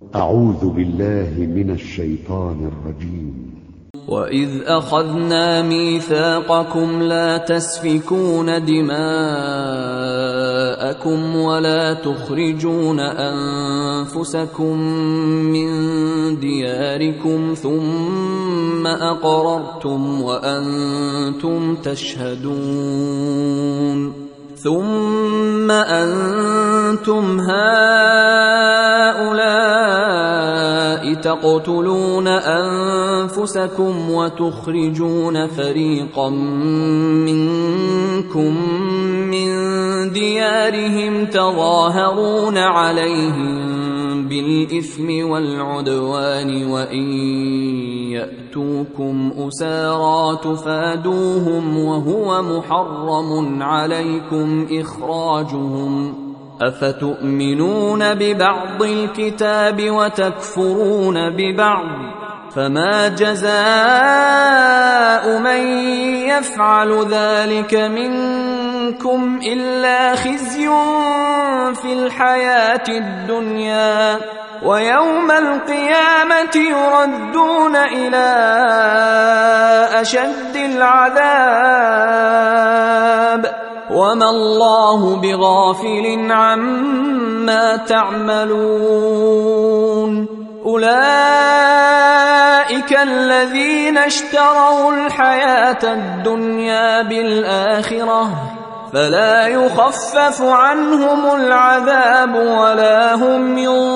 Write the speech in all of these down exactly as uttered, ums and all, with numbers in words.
أعوذ بالله من الشيطان الرجيم. وَإِذْ أَخَذْنَا مِيثَاقَكُمْ لَا تَسْفِكُونَ دِمَاءَكُمْ وَلَا تُخْرِجُونَ أَنفُسَكُم مِّن دِيَارِكُمْ ثُمَّ أَقْرَرْتُمْ وَأَنتُمْ تَشْهَدُونَ ثُمَّ أَنتُمْ هَٰؤُلَاءِ تَقْتُلُونَ أَنفُسَكُمْ وَتُخْرِجُونَ فَرِيقًا مِّنكُم مِّن دِيَارِهِمْ تَظَاهَرُونَ عَلَيْهِم بِالْإِثْمِ وَالْعُدْوَانِ وَإِن يَأْتُوكُمْ أُسَارَىٰ تُفَادُوهُمْ وَهُوَ مُحَرَّمٌ عَلَيْكُمْ إِخْرَاجُهُمْ ۚ أَفَتُؤْمِنُونَ بِبَعْضِ الْكِتَابِ وَتَكْفُرُونَ بِبَعْضٍ ۚ فَمَا جَزَاءُ مَن يَفْعَلُ ذَٰلِكَ مِنكُمْ إِلَّا خِزْيٌ فِي الْحَيَاةِ الدُّنْيَا ۖ وَيَوْمَ الْقِيَامَةِ يُرَدُّونَ إِلَىٰ أَشَدِّ الْعَذَابِ ۗ وَمَا اللَّهُ بِغَافِلٍ عَمَّا تَعْمَلُونَ. أُولَٰئِكَ الَّذِينَ اشْتَرَوُا الْحَيَاةَ الدُّنْيَا بِالْآخِرَةِ ۖ فَلَا يُخَفَّفُ عَنْهُمُ الْعَذَابُ وَلَا هُمْ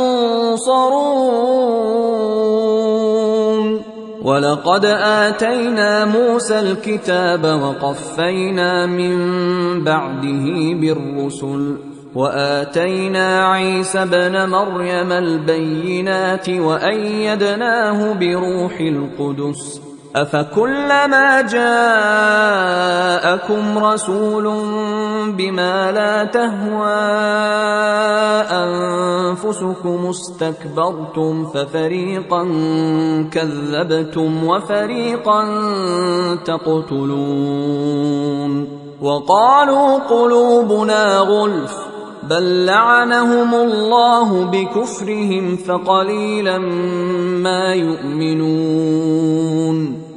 يُنصَرُونَ. وَلَقَدْ آتَيْنَا مُوسَى الْكِتَابَ وَقَفَّيْنَا مِن بَعْدِهِ بِالرُّسُلِ ۖ وَآتَيْنَا عِيسَى ابْنَ مَرْيَمَ الْبَيِّنَاتِ وَأَيَّدْنَاهُ بِرُوحِ الْقُدُسِ ۗ أَفَكُلَّمَا جَاءَكُمْ رَسُولٌ بِمَا لَا تَهْوَىٰ أَنفُسُكُمُ اسْتَكْبَرْتُمْ فَفَرِيقًا كَذَّبْتُمْ وَفَرِيقًا تَقْتُلُونَ. وَقَالُوا قُلُوبُنَا غُلْفٌ ۚ بَل لَّعَنَهُمُ اللَّهُ بِكُفْرِهِمْ فَقَلِيلًا مَّا يُؤْمِنُونَ.